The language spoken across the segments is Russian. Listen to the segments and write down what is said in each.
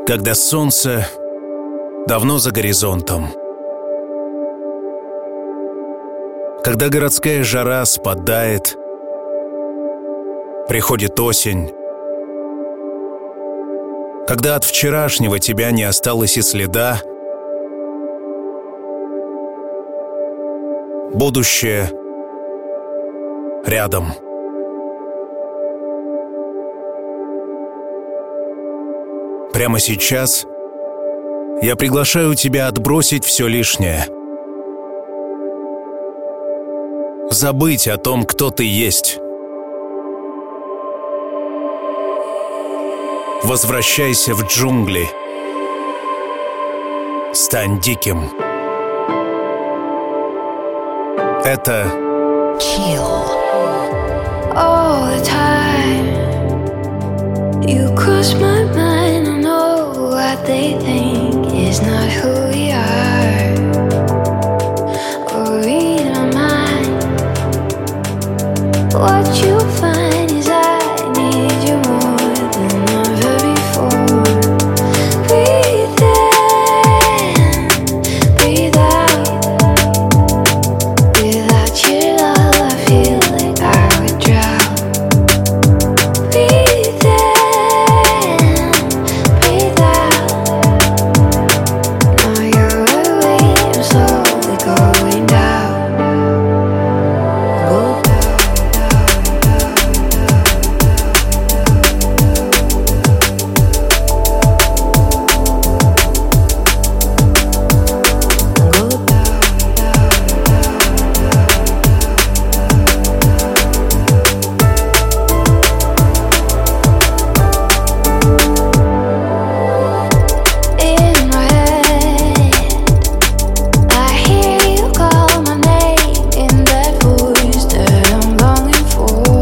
Когда солнце давно за горизонтом, когда городская жара спадает, приходит осень, когда от вчерашнего тебя не осталось и следа, будущее рядом. Прямо сейчас я приглашаю тебя отбросить все лишнее. Забыть о том, кто ты есть. Возвращайся в джунгли. Стань диким. Это Chill. All the time you cross my mind. I know what they think is not who we are, or read my mind. What you find is I need you more than ever before. Breathe in, breathe out. Without your love, I feel like I would drown. Breathe in, breathe out. Now you're away, I'm slowly going down. Go in my head, I hear you call my name in that voice that I'm longing for.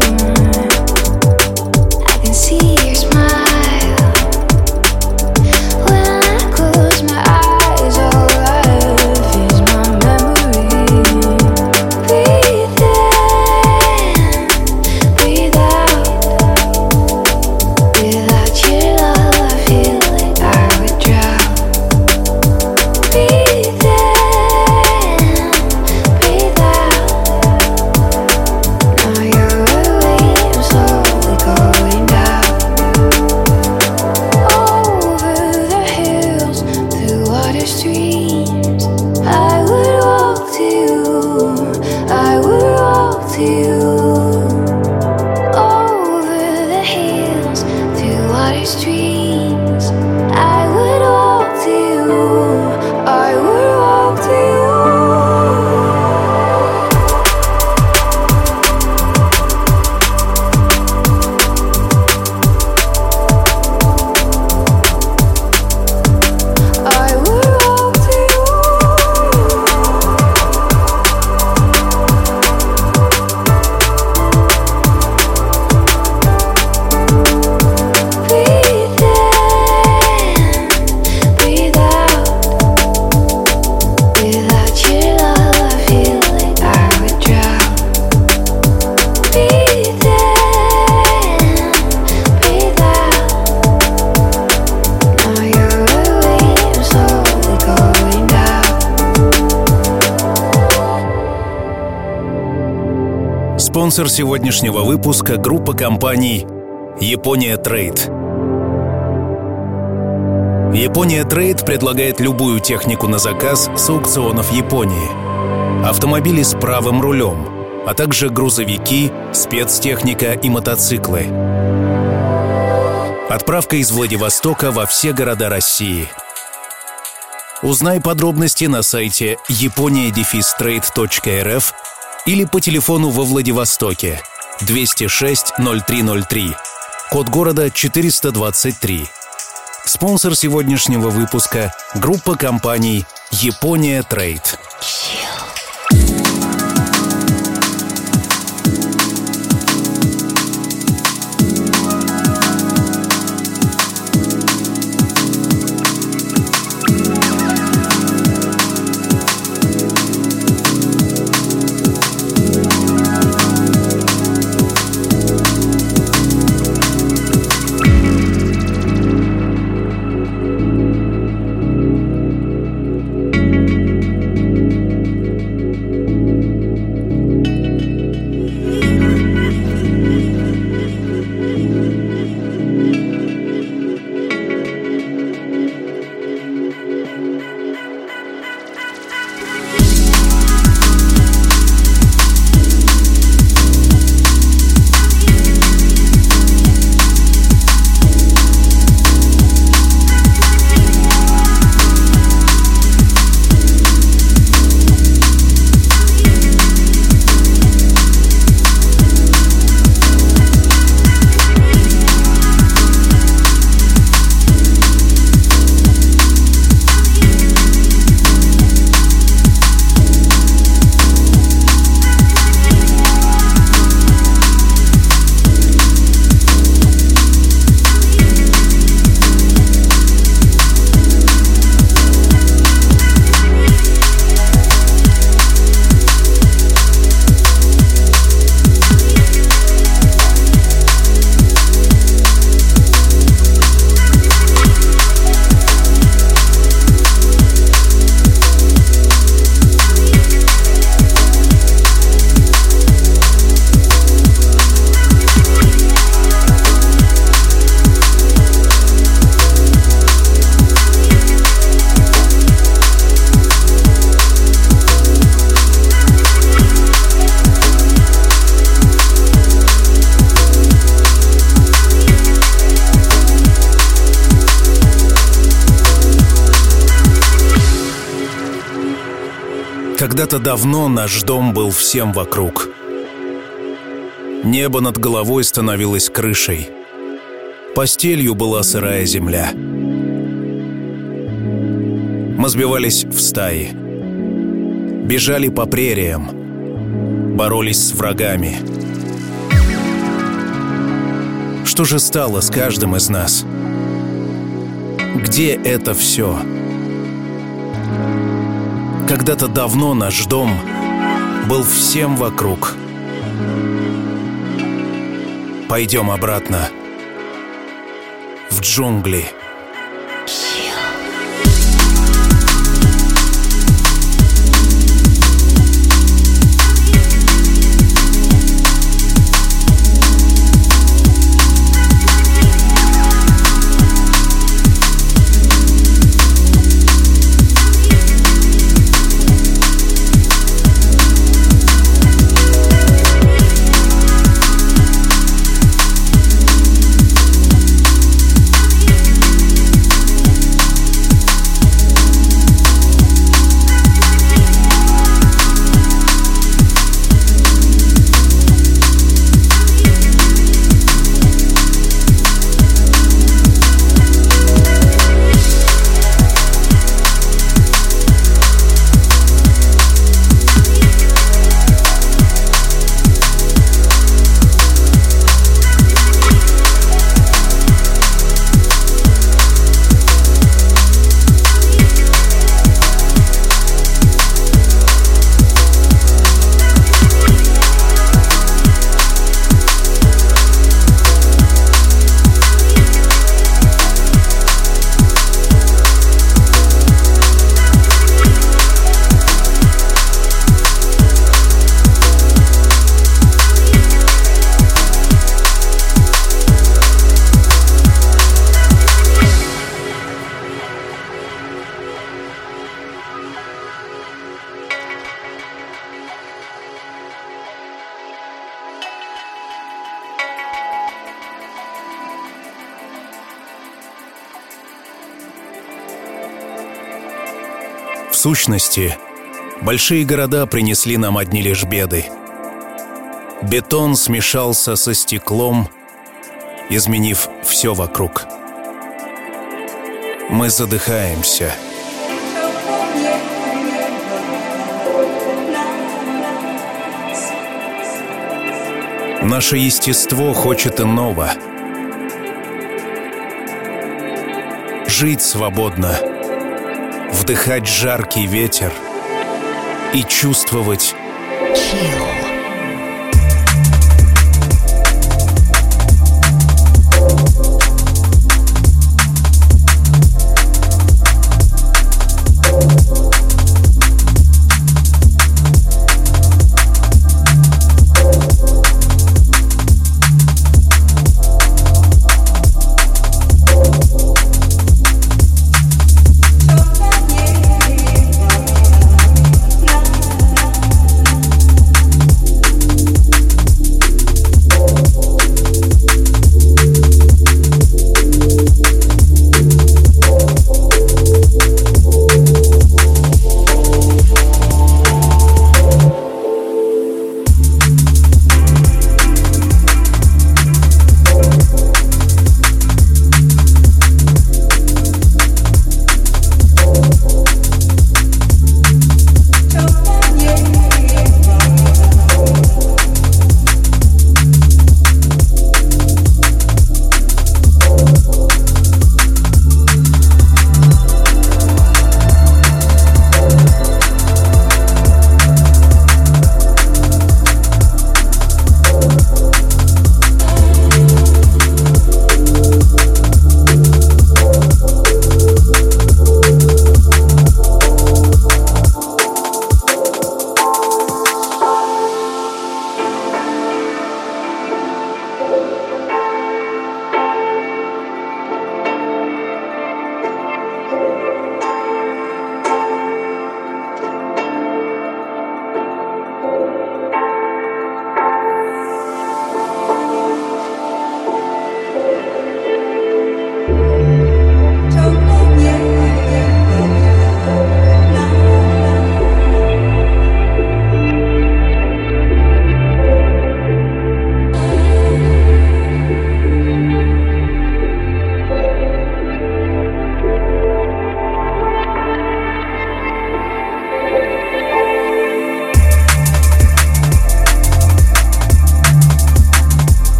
I can see your smile when I close my eyes. All I have is my memory. Breathe in, breathe out. Without your love, I feel like I would drown. Breathe in, breathe out. Now you're away, I'm slowly going down. Over the hills, through water streams, I would walk to you, I would walk to you. Over the hills, through water streams, I would walk to you, I would walk to you. I would walk to you. Breathe in, breathe out. Without your love, I feel like I would drown. Breathe in, breathe out. Now you're away, I'm slowly going down. спонсор сегодняшнего выпуска — группа компаний «Япония Трейд». «Япония Трейд» предлагает любую технику на заказ с аукционов Японии. Автомобили с правым рулем, а также грузовики, спецтехника и мотоциклы. Отправка из Владивостока во все города России. Узнай подробности на сайте japonia-trade.rf или по телефону во Владивостоке 206 0303, код города 423. Спонсор сегодняшнего выпуска — группа компаний «Япония Трейд». Когда-то давно наш дом был всем вокруг. Небо над головой становилось крышей. Постелью была сырая земля. Мы сбивались в стаи. Бежали по прериям. Боролись с врагами. Что же стало с каждым из нас? Где это все? Когда-то давно наш дом был всем вокруг. Пойдем обратно в джунгли. В сущности, большие города принесли нам одни лишь беды. Бетон смешался со стеклом, изменив все вокруг. Мы задыхаемся. Наше естество хочет иного. Жить свободно, вдыхать жаркий ветер и чувствовать chill.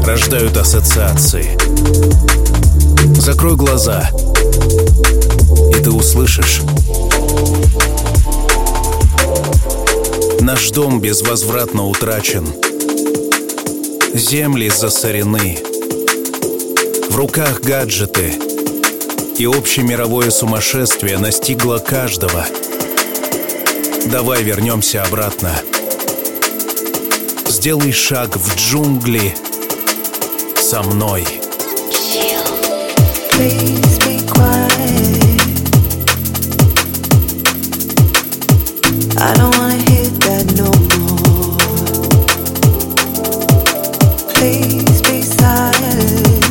рождают ассоциации. Закрой глаза, и ты услышишь. Наш дом безвозвратно утрачен. Земли засорены. В руках гаджеты. И общемировое сумасшествие настигло каждого. Давай вернемся обратно. Сделай шаг в джунгли со мной. Please be quiet. I don't wanna hear that no more. Please be silent.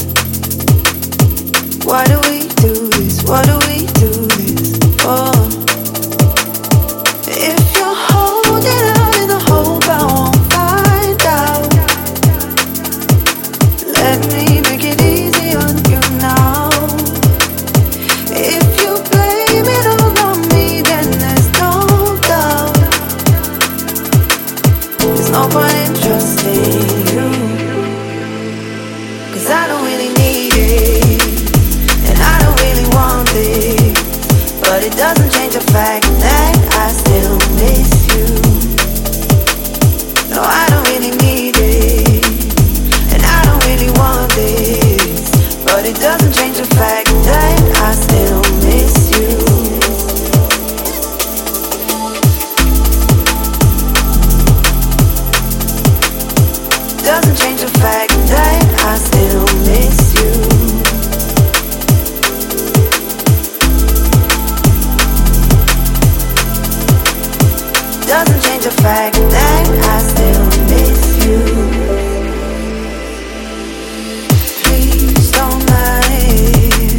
Why do we do this? Why do we do this? Oh, if you're holding out in the hope I won't find out, let me make it easy on you now. If you blame it all on me, then there's no doubt. There's no point in trusting you, 'cause I don't really need it, and I don't really want it. But it doesn't change the fact that I still miss you. No, I don't really need it, and I don't really want this. But it doesn't change the fact that I still miss you. Doesn't change the fact that I still miss you. Doesn't change the fact that I still miss you. Please don't lie.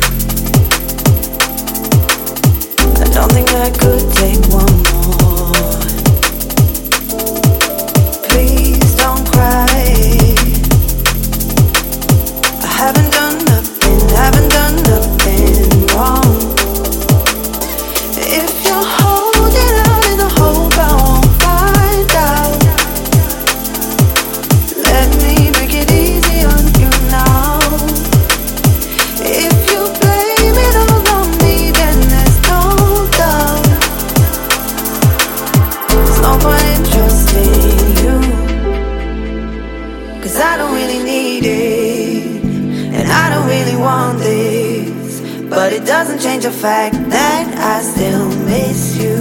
I don't think I could take one more. Please don't cry. I haven't done nothing wrong. If you're holding out in the hope I won't find out, let me make it easy on you now. If you blame it all on me, then there's no doubt. There's no point in trusting you, 'cause I don't really need it, and I don't really want this. But it doesn't change the fact that I still miss you.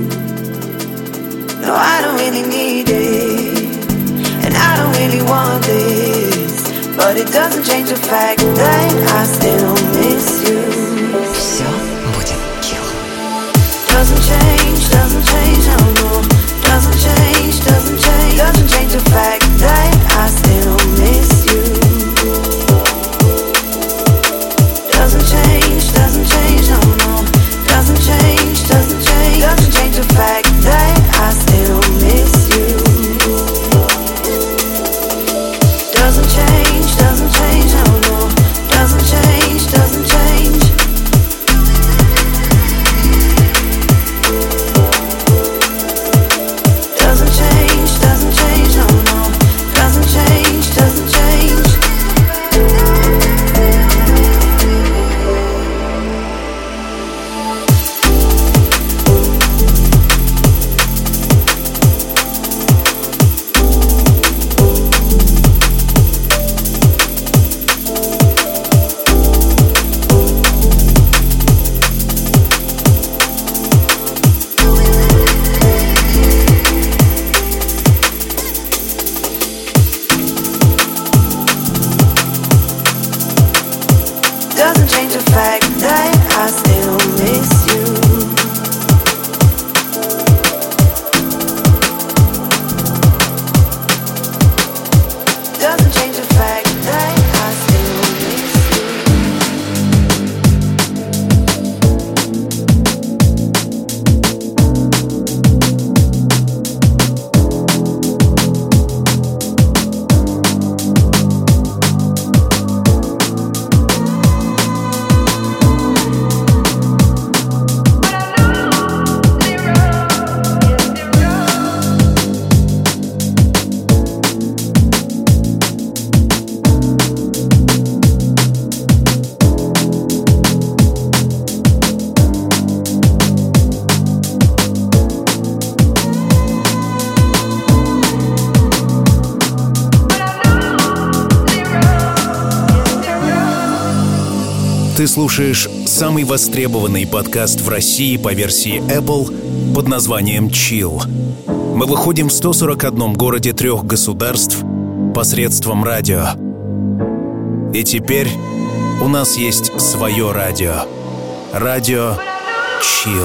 No, I don't really need it, and I don't really want this. But it doesn't change the fact that I still miss you. Все будет chill. Doesn't change, no, no. Doesn't change the fact that I still miss you. Doesn't change, no, no. Doesn't change the fact that I still miss you. Doesn't change, no, no. Doesn't change. Doesn't change, no, no. Doesn't change. Doesn't change the fact that I still miss you. Doesn't change the fact that I still miss you. Ты слушаешь самый востребованный подкаст в России по версии Apple под названием Chill. Мы выходим в 141 городе 3 государств посредством радио. И теперь у нас есть свое радио. Радио Chill.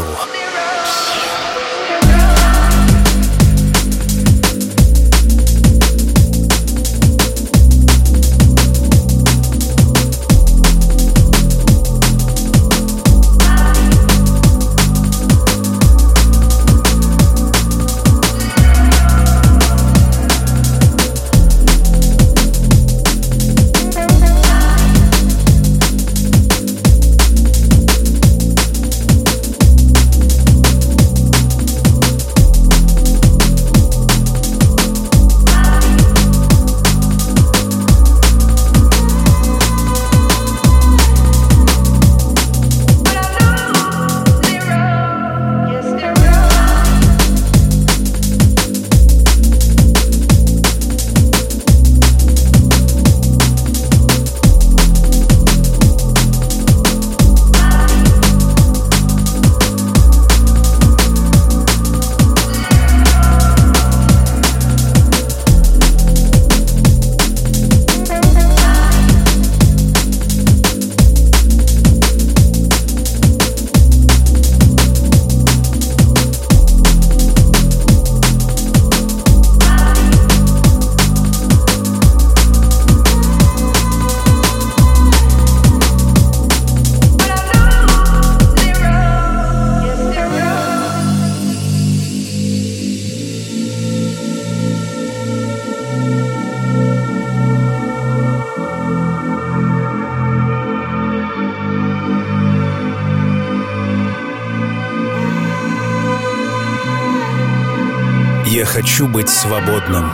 Я хочу быть свободным.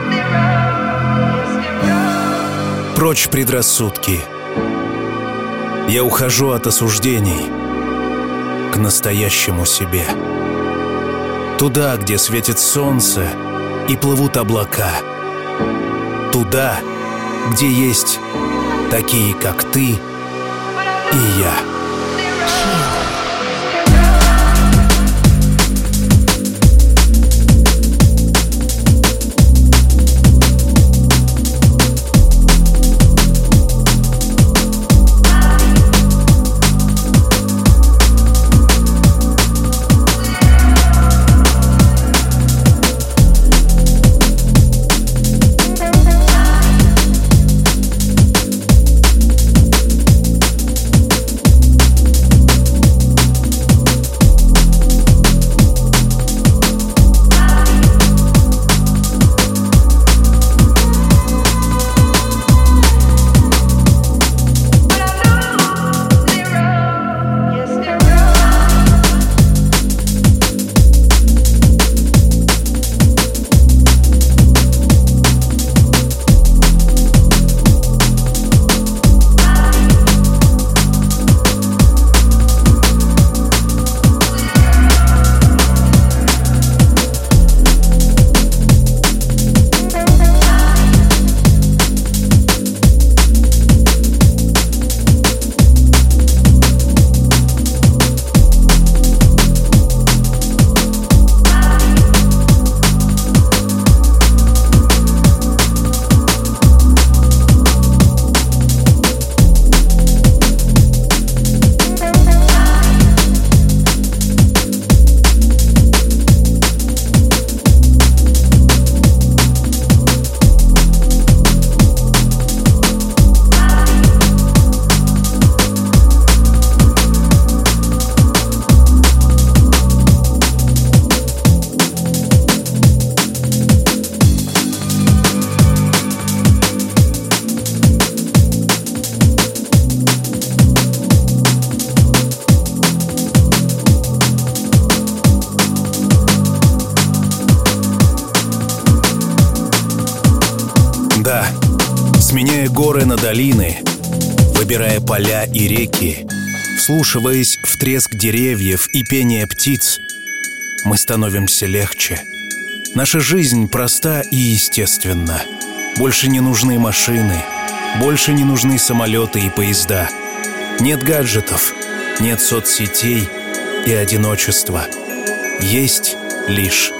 Прочь предрассудки. Я ухожу от осуждений к настоящему себе. Туда, где светит солнце и плывут облака. Туда, где есть такие, как ты и я. Да, сменяя горы на долины, выбирая поля и реки, вслушиваясь в треск деревьев и пение птиц, мы становимся легче. Наша жизнь проста и естественна. Больше не нужны машины, больше не нужны самолеты и поезда. Нет гаджетов, нет соцсетей и одиночества. Есть лишь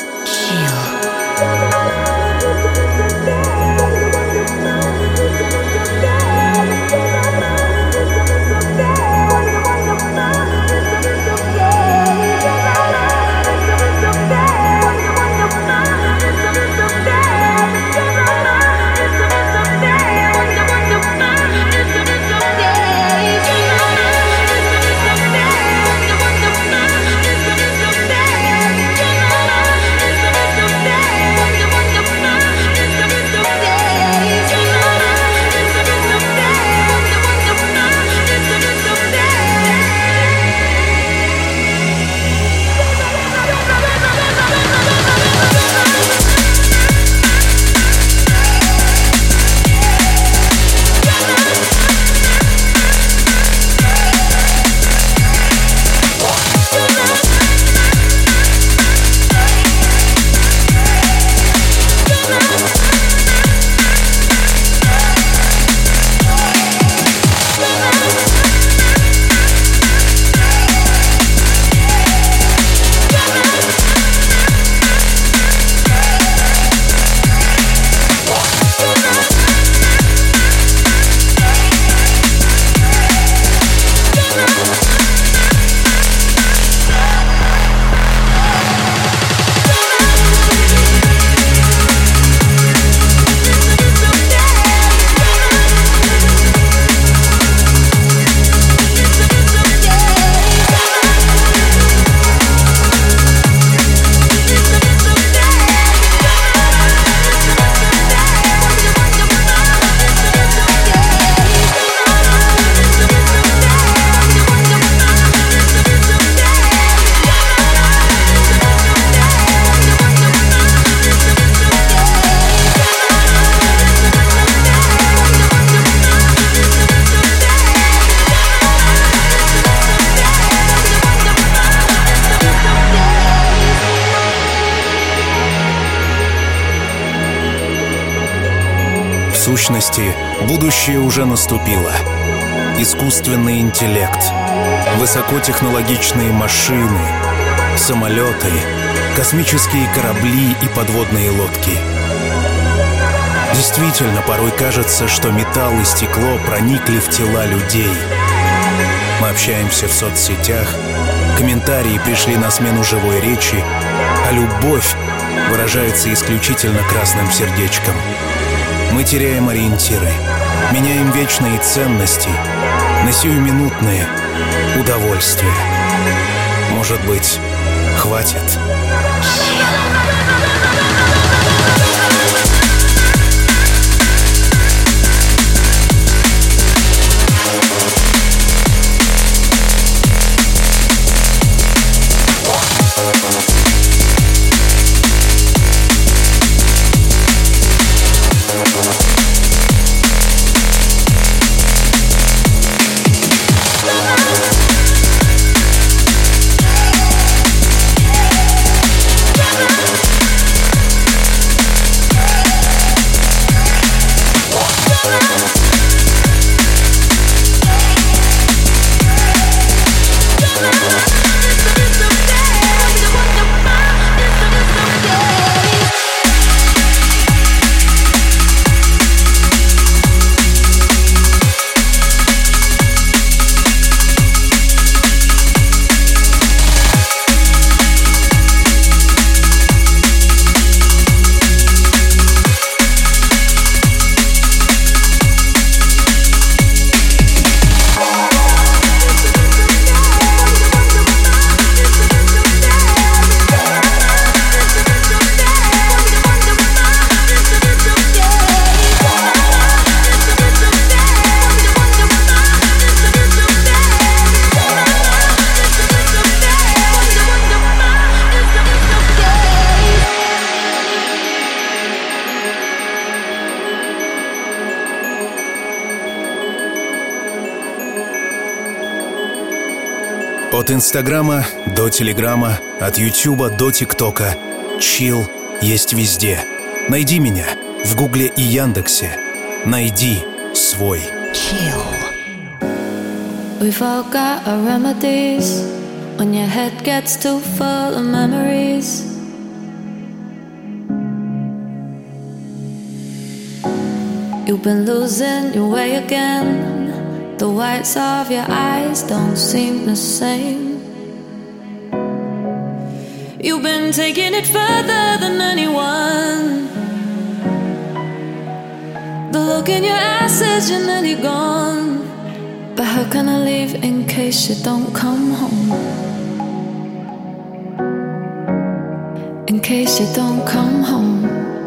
В сущности, будущее уже наступило. Искусственный интеллект, высокотехнологичные машины, самолеты, космические корабли и подводные лодки. Действительно, порой кажется, что металл и стекло проникли в тела людей. Мы общаемся в соцсетях, комментарии пришли на смену живой речи, а любовь выражается исключительно красным сердечком. Мы теряем ориентиры, меняем вечные ценности на сиюминутные удовольствия. Может быть, хватит? От Инстаграма до Телеграма, от Ютуба до ТикТока. Chill есть везде. Найди меня в Гугле и Яндексе. Найди свой. Chill. We've all got our remedies when your head gets too full of memories. You've been losing your way again. The whites of your eyes don't seem the same. You've been taking it further than anyone. The look in your eyes says you're nearly gone. But how can I leave in case you don't come home? In case you don't come home.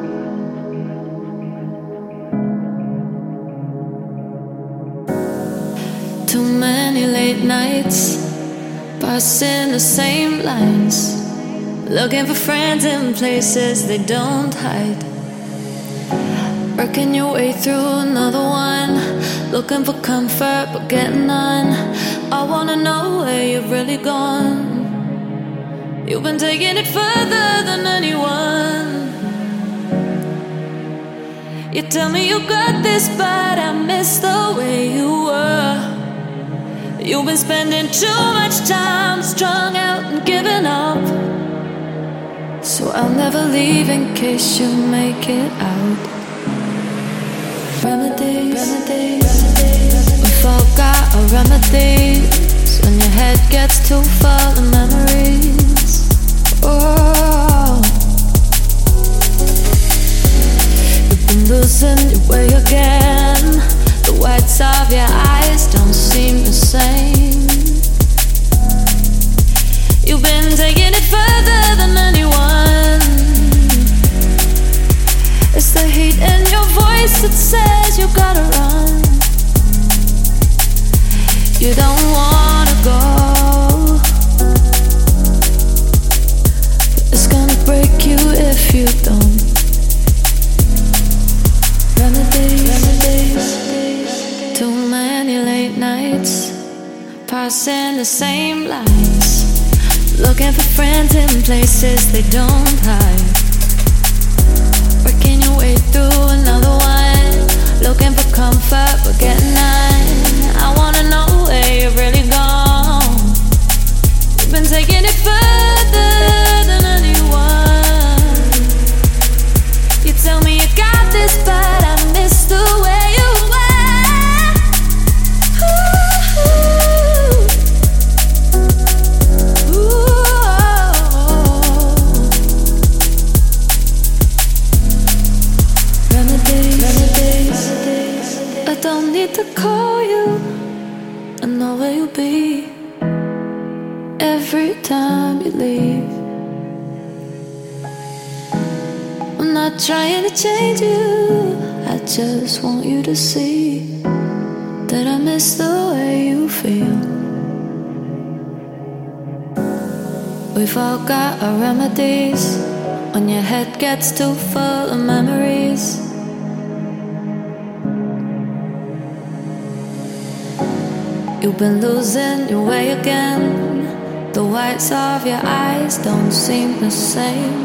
Too many late nights, passing the same lines, looking for friends in places they don't hide. Working your way through another one, looking for comfort but getting none. I wanna know where you've really gone. You've been taking it further than anyone. You tell me you got this, but I miss the way you were. You've been spending too much time strung out and giving up. So I'll never leave in case you make it out. Remedies, we've all got our remedies when your head gets too full of memories. Oh, you've been losing your way again. The whites of your eyes don't seem the same. You've been taking it further than anyone. It's the heat in your voice that says you gotta run. You don't wanna go. It's gonna break you if you don't. Remedies. Too many late nights, passing the same lines, looking for friends in places they don't hide. Working your way through another one, looking for comfort but getting none. I wanna know where you've really gone. You've been taking it further than anyone. You tell me you got this, but I miss the way you were. Ooh. Remedies. I don't need to call you. I know where you'll be every time you leave. I'm not trying to change you, I just want you to see that I miss the way you feel. We've all got our remedies when your head gets too full of memories. You've been losing your way again. The whites of your eyes don't seem the same.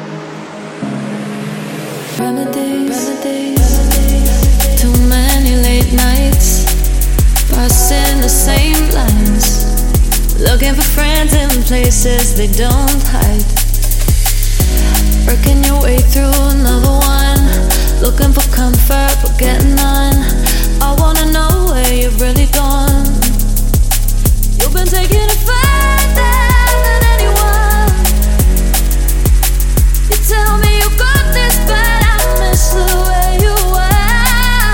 Remedies. Too many late nights, passing the same lines, looking for friends in places they don't hide. Working your way through another one, looking for comfort but getting none. I wanna know where you've really gone. You've been taking it further than anyone. You tell me you got this, but I miss the way you were.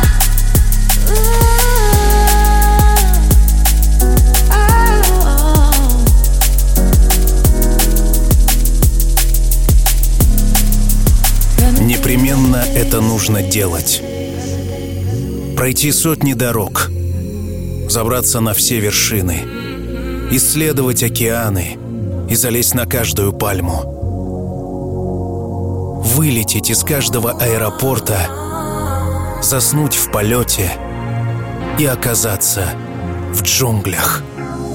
Непременно это нужно делать. Пройти сотни дорог, забраться на все вершины, исследовать океаны и залезть на каждую пальму. Вылететь из каждого аэропорта, заснуть в полете и оказаться в джунглях.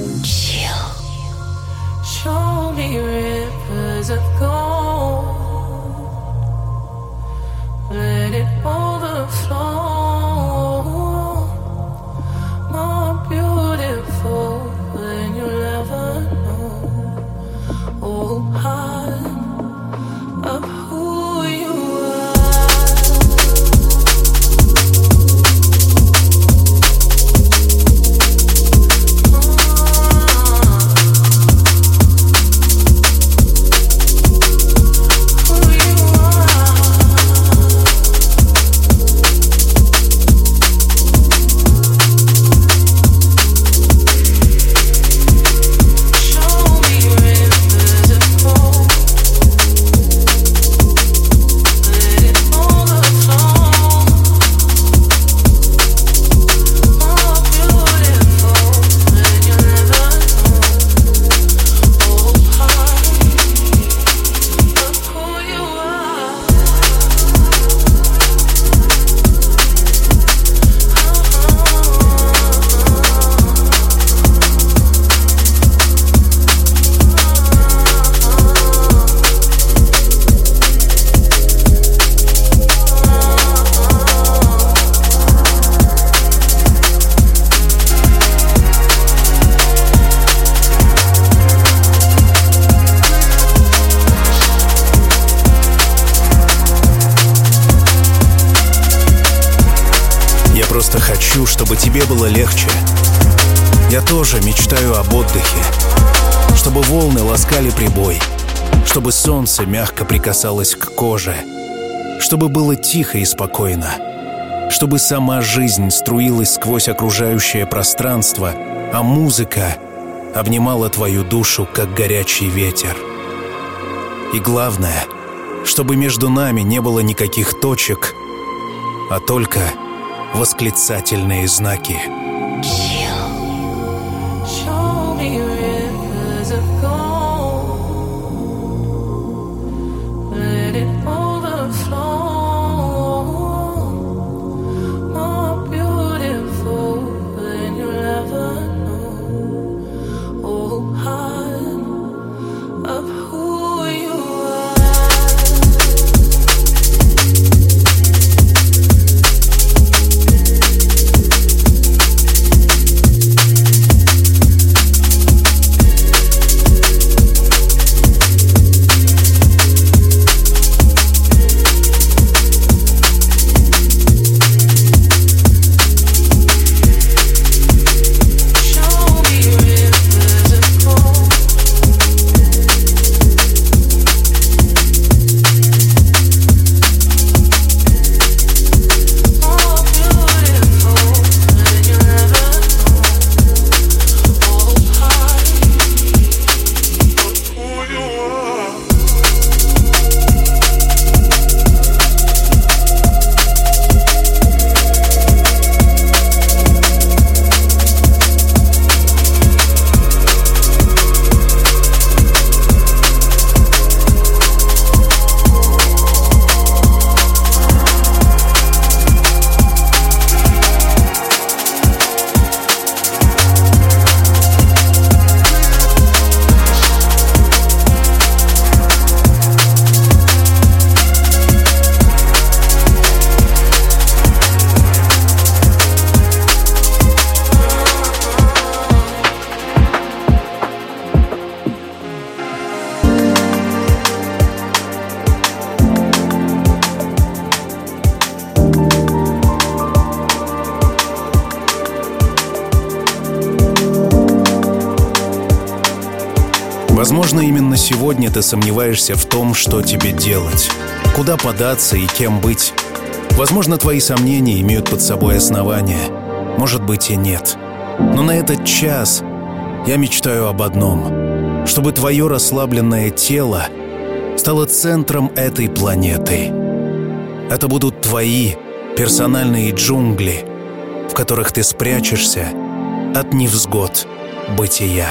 Show me rivers of gold. Let it overflow. More beautiful просто хочу, чтобы тебе было легче. Я тоже мечтаю об отдыхе, чтобы волны ласкали прибой, чтобы солнце мягко прикасалось к коже, чтобы было тихо и спокойно, чтобы сама жизнь струилась сквозь окружающее пространство, а музыка обнимала твою душу, как горячий ветер. И главное, чтобы между нами не было никаких точек, а только восклицательные знаки. Show me rivers of gold. Let it overflow. More beautiful than you'll ever know. Oh, heart of who you are. Возможно, именно сегодня ты сомневаешься в том, что тебе делать, куда податься и кем быть. Возможно, твои сомнения имеют под собой основания. Может быть и нет. Но на этот час я мечтаю об одном: чтобы твое расслабленное тело стало центром этой планеты. Это будут твои персональные джунгли, в которых ты спрячешься от невзгод бытия.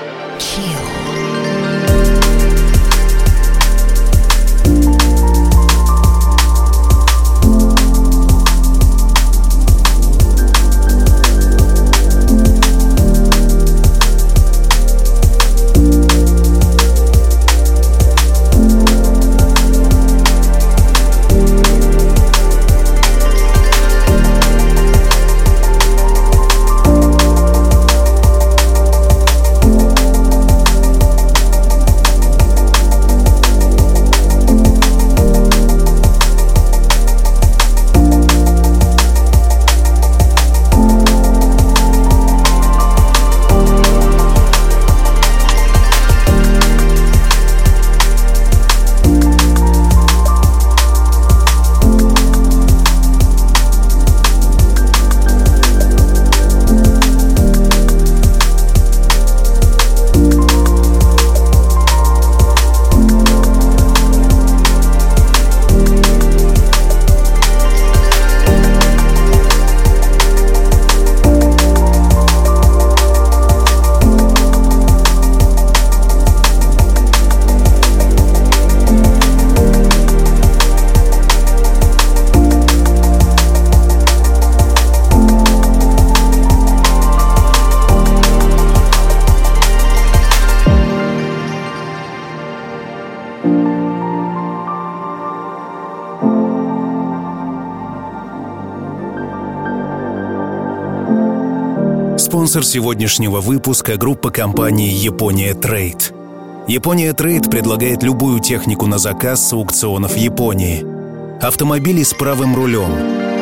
Спонсор сегодняшнего выпуска — группа компании «Япония Трейд». «Япония Трейд» предлагает любую технику на заказ с аукционов Японии. Автомобили с правым рулем,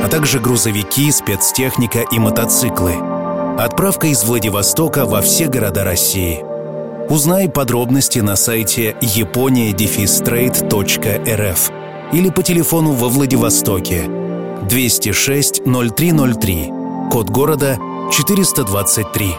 а также грузовики, спецтехника и мотоциклы. Отправка из Владивостока во все города России. Узнай подробности на сайте yaponia-trade.rf или по телефону во Владивостоке 206 0303, код города 423.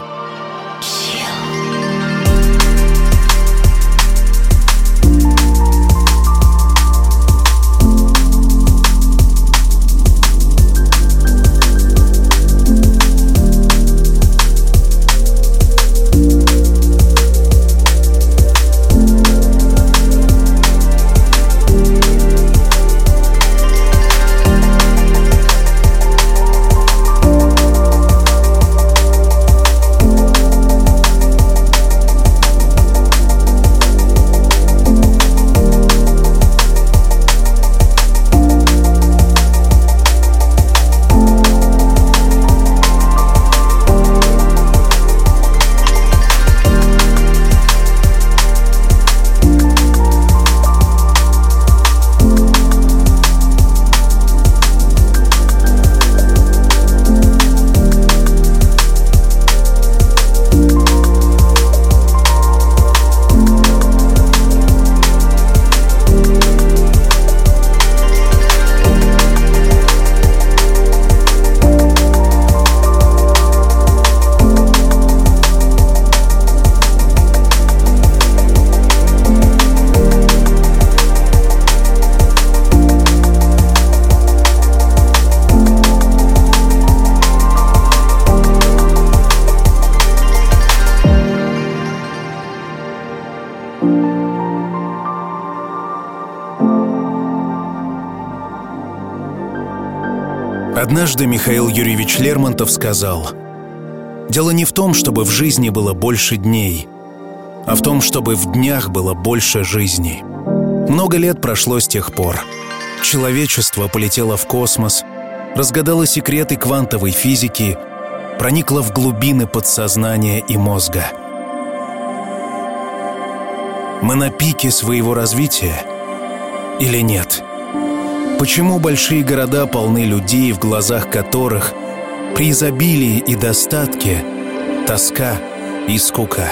Однажды Михаил Юрьевич Лермонтов сказал: «Дело не в том, чтобы в жизни было больше дней, а в том, чтобы в днях было больше жизни». Много лет прошло с тех пор. Человечество полетело в космос, разгадало секреты квантовой физики, проникло в глубины подсознания и мозга. Мы на пике своего развития или нет? Почему большие города полны людей, в глазах которых при изобилии и достатке тоска и скука?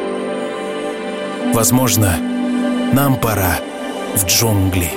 Возможно, нам пора в джунгли.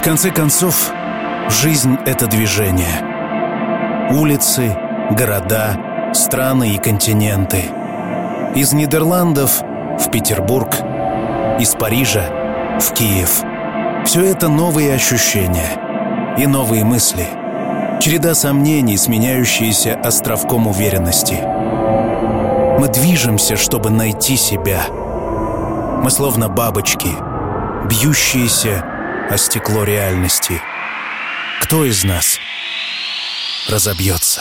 конце концов, жизнь — это движение. Улицы, города, страны и континенты. Из Нидерландов в Петербург, из Парижа в Киев. Все это новые ощущения и новые мысли. Череда сомнений, сменяющиеся островком уверенности. Мы движемся, чтобы найти себя. Мы словно бабочки, бьющиеся о стекло реальности. Кто из нас разобьется?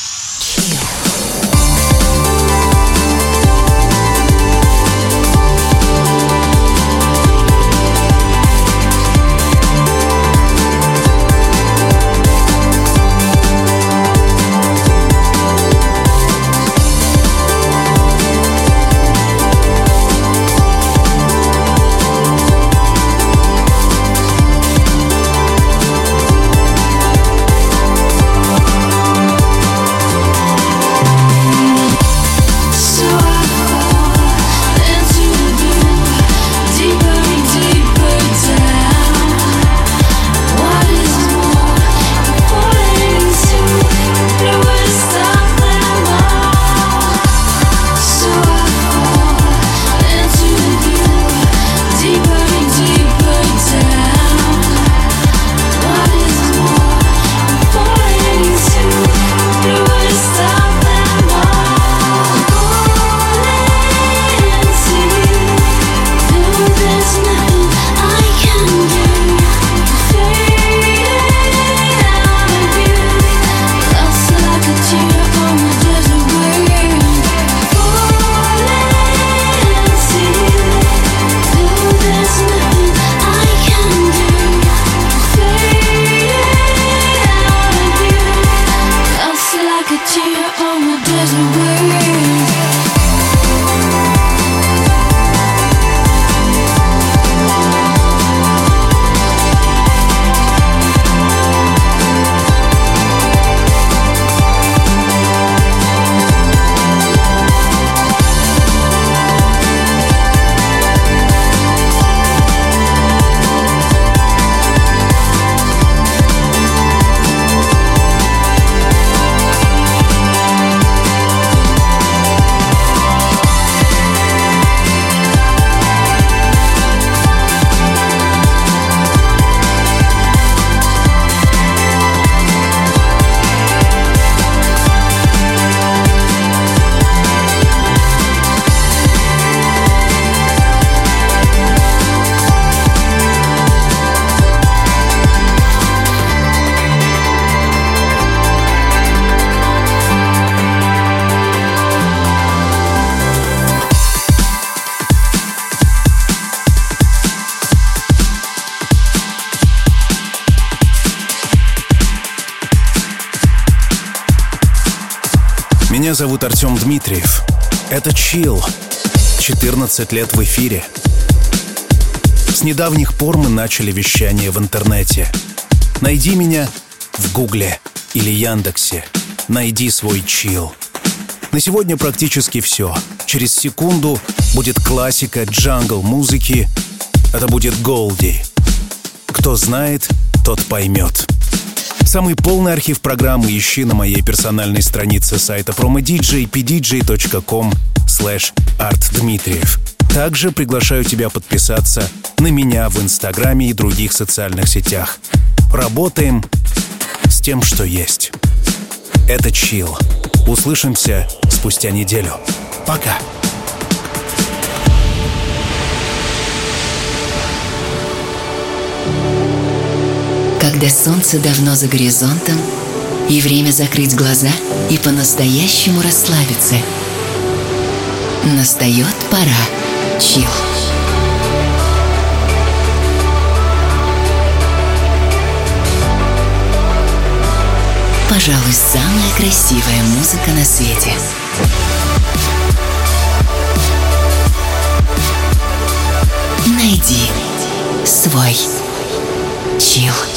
Меня зовут Артем Дмитриев. Это Chill. 14 лет в эфире. С недавних пор мы начали вещание в интернете. Найди меня в Гугле или Яндексе. Найди свой Chill. На сегодня практически все. Через секунду будет классика джангл-музыки. Это будет Голди. Кто знает, тот поймет. Самый полный архив программы ищи на моей персональной странице сайта promodj pdj.com/artdmitriev. Также приглашаю тебя подписаться на меня в Инстаграме и других социальных сетях. Работаем с тем, что есть. Это Chill. Услышимся спустя неделю. Пока. Когда солнце давно за горизонтом, и время закрыть глаза и по-настоящему расслабиться, настает пора Chill. Пожалуй, самая красивая музыка на свете. Найди свой Chill.